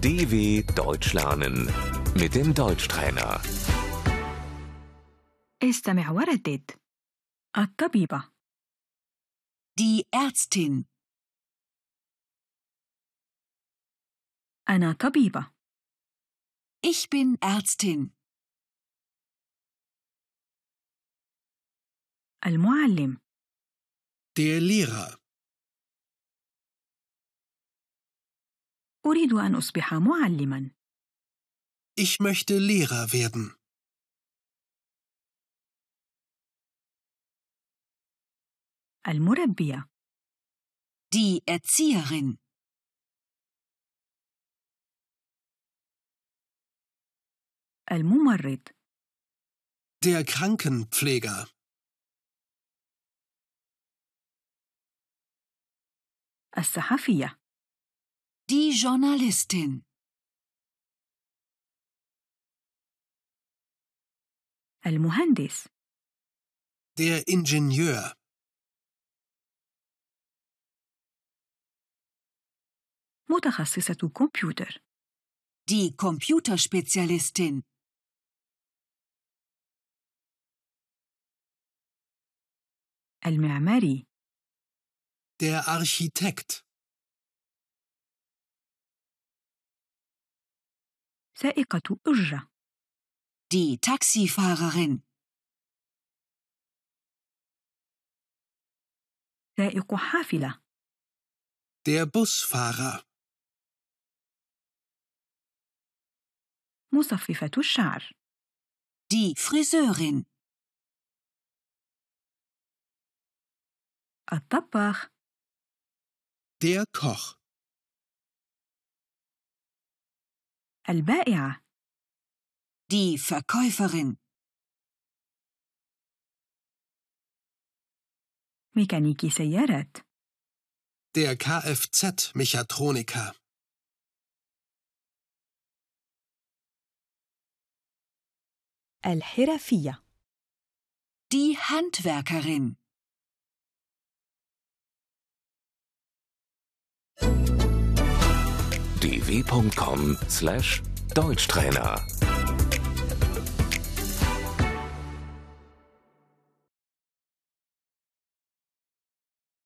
DW Deutsch lernen mit dem Deutschtrainer. استمع وردد. الطبيبة. Die Ärztin. أنا طبيبة. Ich bin Ärztin. المعلم. Der Lehrer. أريد أن أصبح معلماً. Ich möchte Lehrer werden. المربية. Die Erzieherin. الممرض. Der Krankenpfleger. الصحفية. Die Journalistin. المهندس. Der Ingenieur. متخصصة كمبيوتر. Die Computerspezialistin. المعماري. Der Architekt. سائقة أجرة. Die Taxifahrerin. سائق حافلة. Der Busfahrer. مصففة الشعر. Die Friseurin. الطباخ. Der Koch. البائعة. Die Verkäuferin. ميكانيكي سيارات. Der Kfz-Mechatroniker. الحرفية. Die Handwerkerin. dw.com/Deutschtrainer